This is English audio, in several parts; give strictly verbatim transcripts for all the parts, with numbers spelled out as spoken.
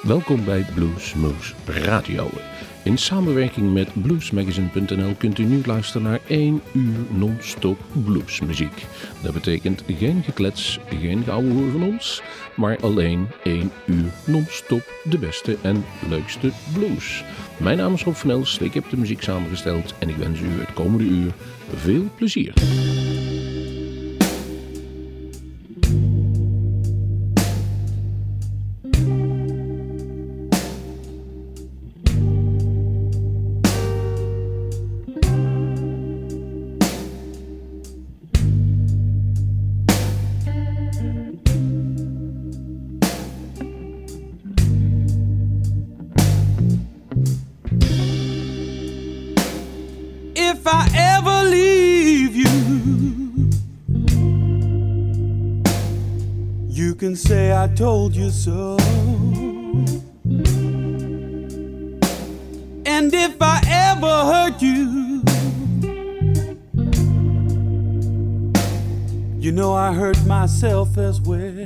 Welkom bij Bluesmoose Radio. In samenwerking met bluesmagazine punt n l kunt u nu luisteren naar één uur non-stop bluesmuziek. Dat betekent geen geklets, geen geouwehoer van ons, maar alleen één uur non-stop de beste en leukste blues. Mijn naam is Rob van Els, ik heb de muziek samengesteld en ik wens u het komende uur veel plezier. If I ever leave you, you can say I told you so. And if I ever hurt you, you know I hurt myself as well.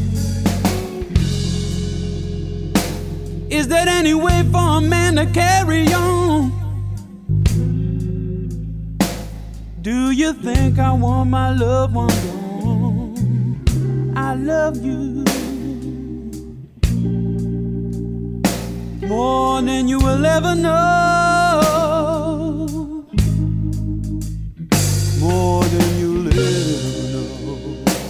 Is there any way for a man to carry on? Do you think I want my loved one gone? I love you more than you will ever know. More than you'll ever know.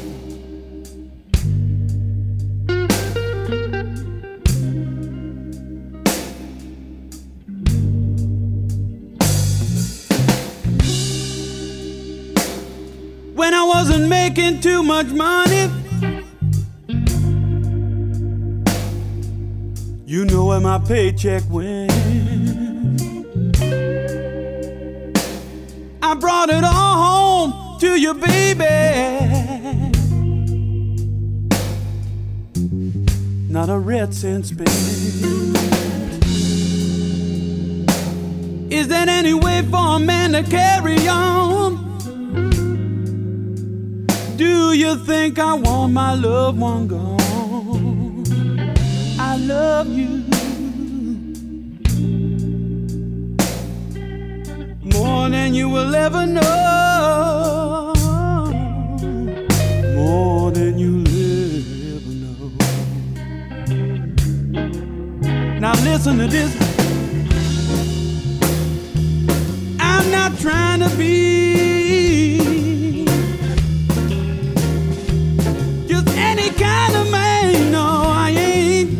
When I wasn't making too much money, you know where my paycheck went. I brought it all home to you, baby. Not a red cent spent. Is there any way for a man to carry on? Do you think I want my loved one gone? I love you more than you will ever know. More than you'll ever know. Now listen to this. I'm not trying to be any kind of man, no, I ain't.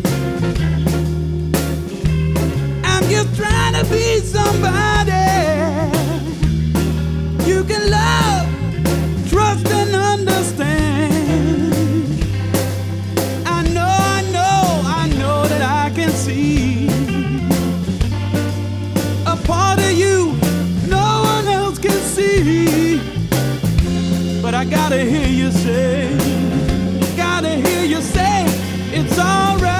I'm just trying to be somebody you can love, trust, and understand. I know, I know, I know that I can see a part of you no one else can see. But I gotta hear you say, gotta hear you say it's alright.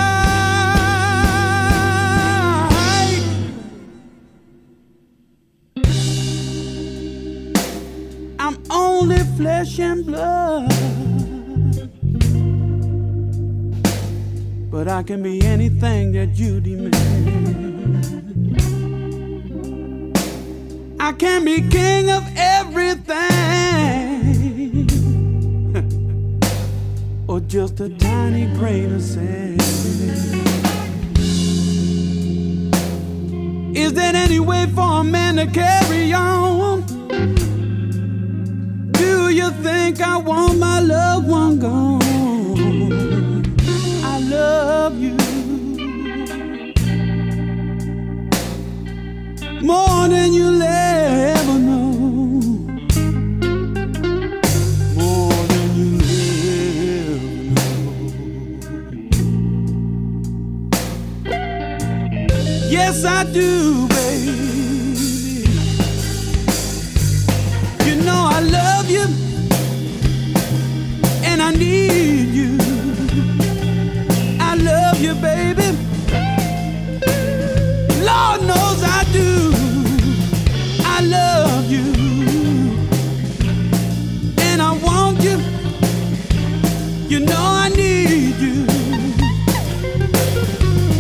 I'm only flesh and blood, but I can be anything that you demand. I can be king of everything, or just a tiny grain of sand. Is there any way for a man to carry on? Do you think I want my loved one gone? I love you more than you'll ever know. Yes, I do, baby. You know I love you, and I need you. I love you, baby. Lord knows I do. I love you, and I want you. You know I need you.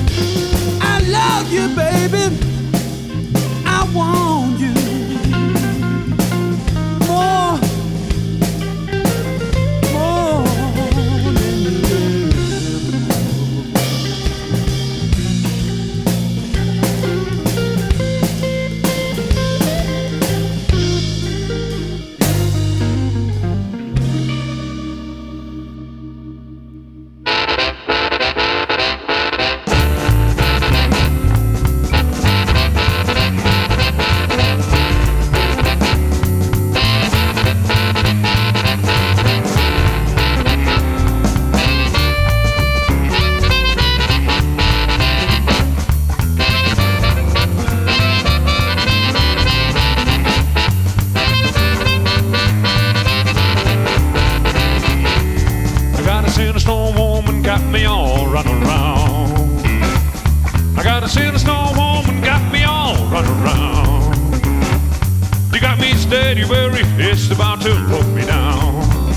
sinister woman got me all run around. I got a sinister woman got me all run around. You got me steady, worry, it's about to put me down.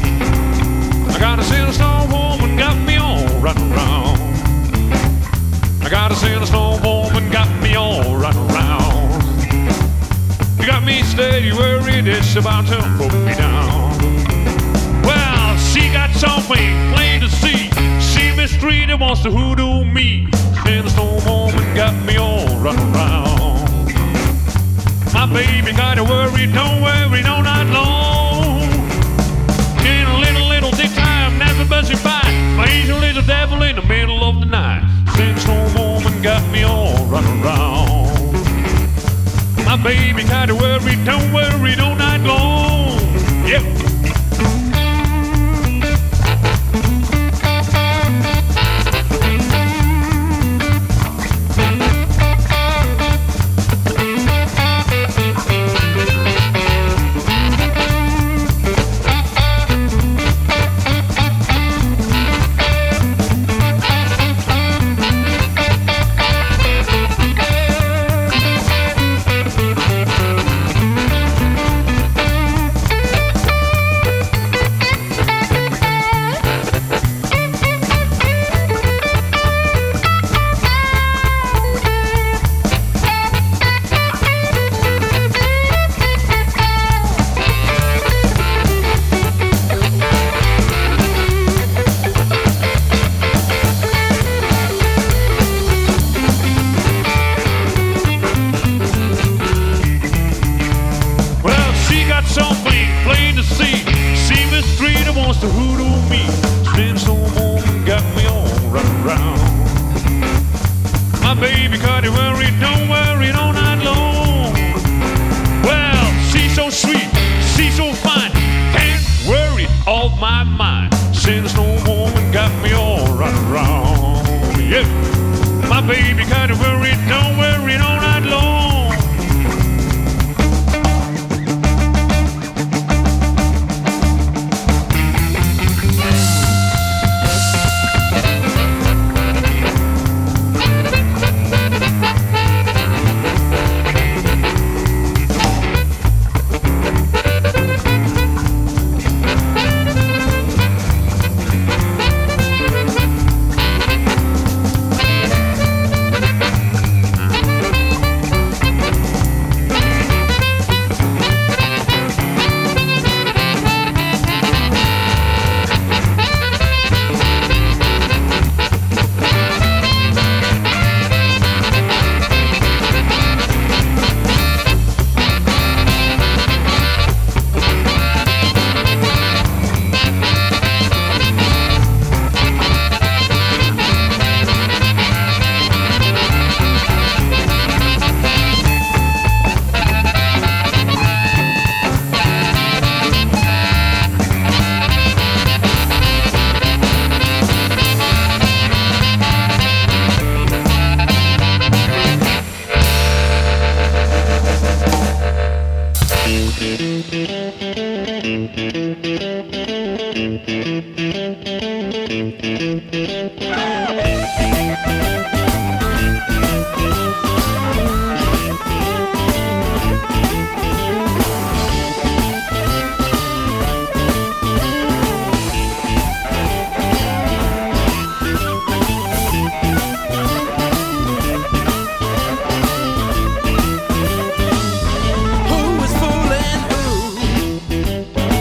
I got a sinister woman got me all run around. I got a sinister woman got me all run around. You got me steady, worried, it's about to put me down. Well, she got something plain to see. She mistreated, wants to hoodoo me. Sinister woman got me all run around. My baby got to worry, don't worry, no, not long. In a little, little dick time, never buzzing by. My angel is a devil in the middle of the night. Sinister woman got me all run around. My baby got to worry, don't worry, no, not long. Yep.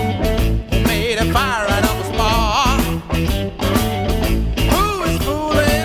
Fire right up a spark. Who is fooling?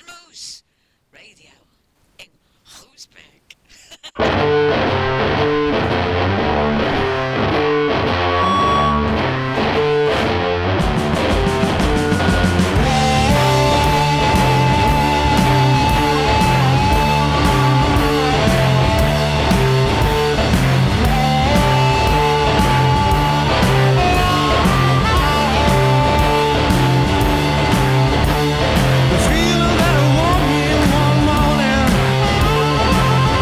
Blues Radio in Groesbeek. The feeling that I want me one morning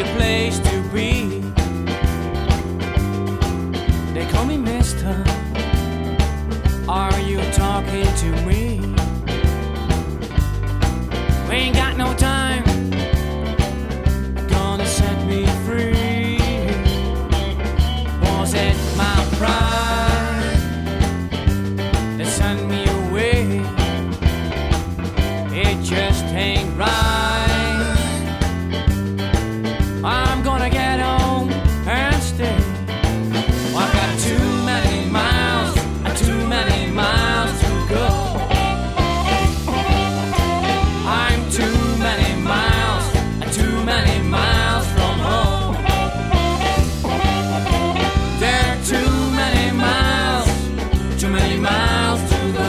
the place to be. They call me mister. Are you talking to me? We ain't got no time. Gonna set me free. Was it my pride that sent me away? It just ain't right. I'm gonna get home and stay. I've got too many miles, too many miles to go. I'm too many miles, too many miles from home. There are too many miles, too many miles to go.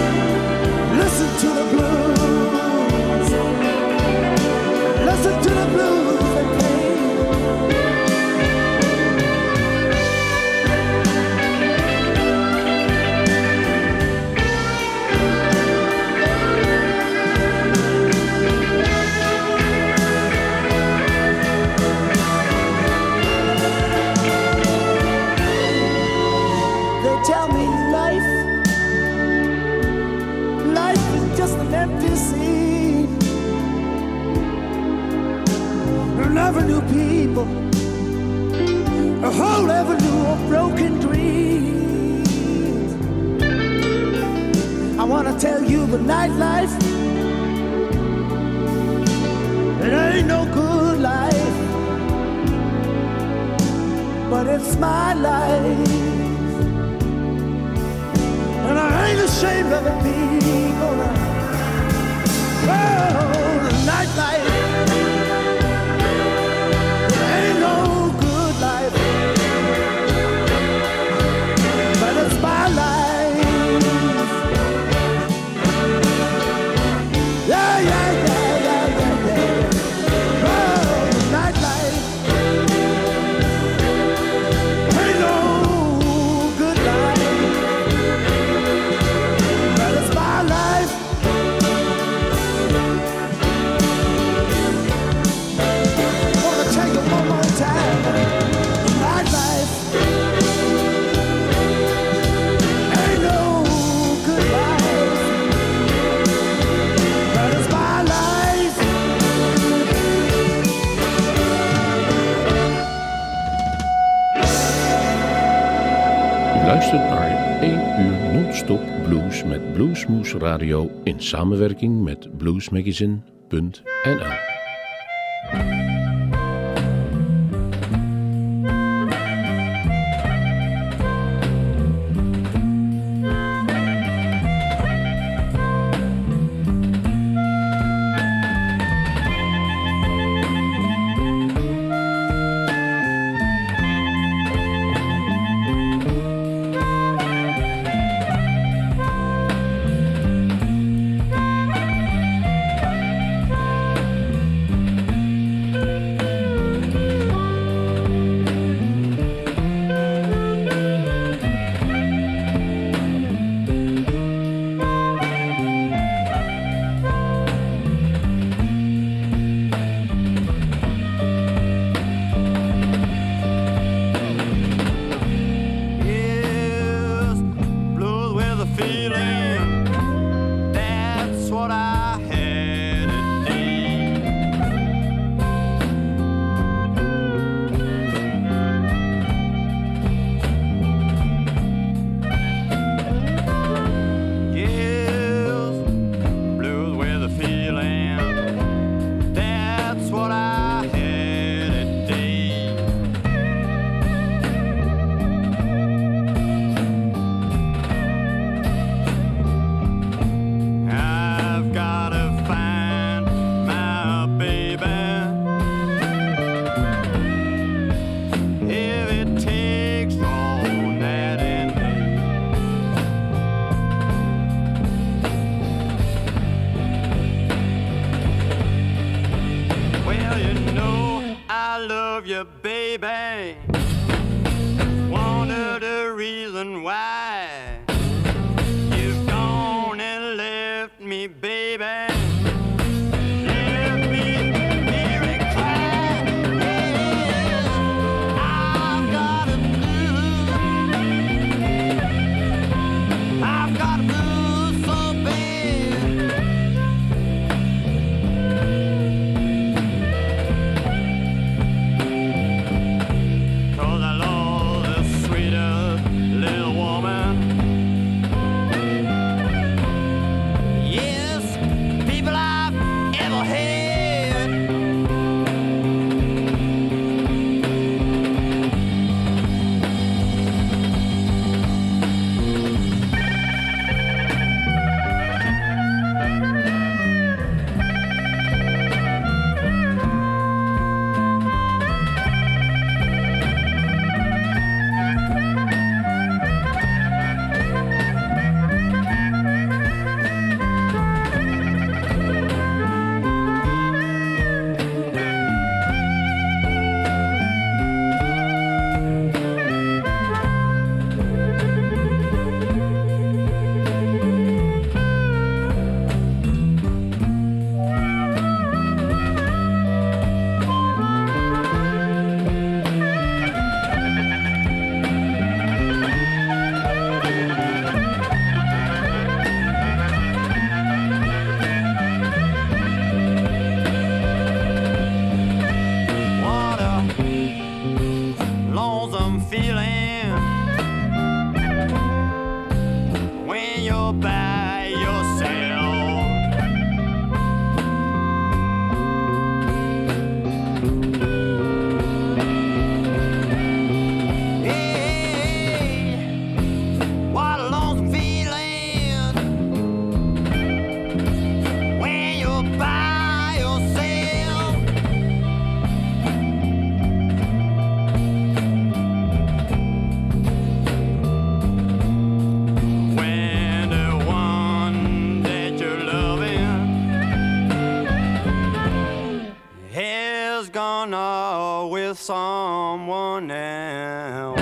Listen to the empty scene. An avenue people, a whole avenue of broken dreams. I wanna tell you the nightlife, it ain't no good life, but it's my life. And I ain't ashamed of it, people. Oh, the nightlife, it ain't no good life, but it's my life. Yeah, yeah, yeah, yeah, yeah, yeah. Oh, the nightlife ain't no good life, but it's my life. Wanna tell you one more time, nightlife ain't no good life, but it's my life. U luistert naar één uur non-stop blues met Bluesmoose Radio in samenwerking met bluesmagazine punt n l. Yes, blues with a feeling. That's what I had today. Yes, blues with a feeling. That's what I had today. I've gotta find my baby. If it takes all night and day. Well, you know I love you, baby. Wonder the reason why you've gone and left me, baby. Left me here and cry. Yes, I've got a blues. I've got a blues so bad. Cause I lost the sweetest little woman. Yes, with someone else.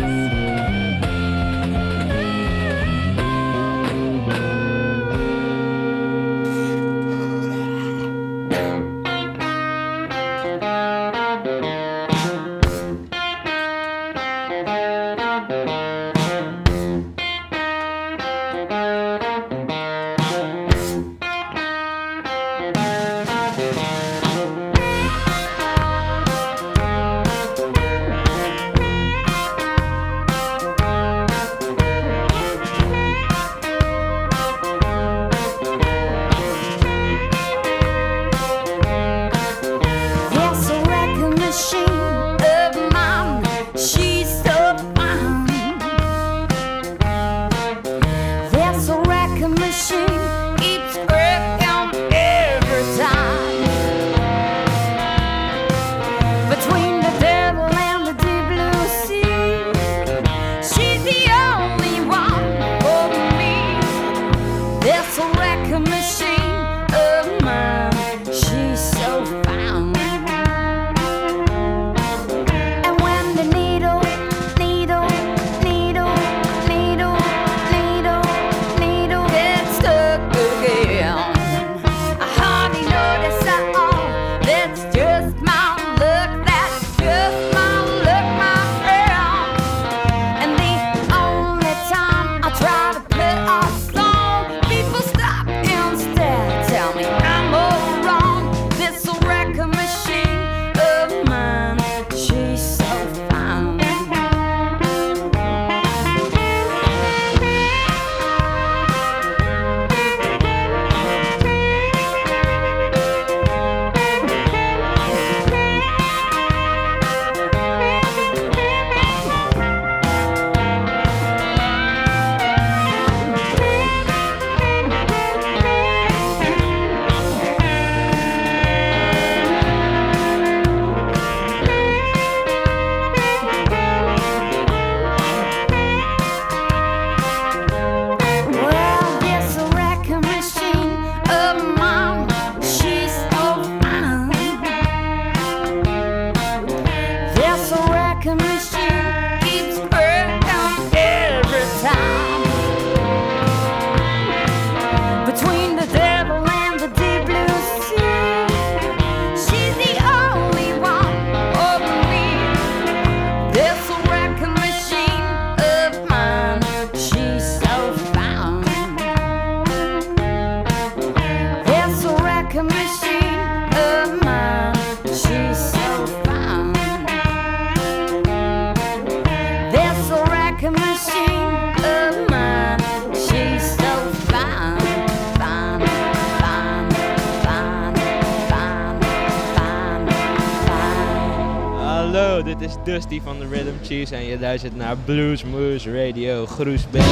Dit is Dusty van de Rhythm Cheese en je luistert naar Blues Moose Radio Groesbeek.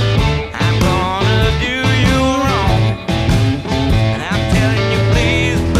Please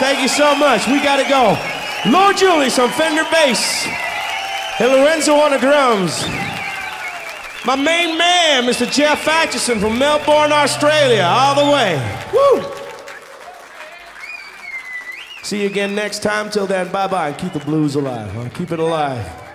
Thank you so much. We gotta go. Lord Julius on Fender bass. And Lorenzo on the drums. My main man, Mister Jeff Atchison from Melbourne, Australia, all the way. Woo! See you again next time. Till then, bye-bye. Keep the blues alive, huh? Keep it alive.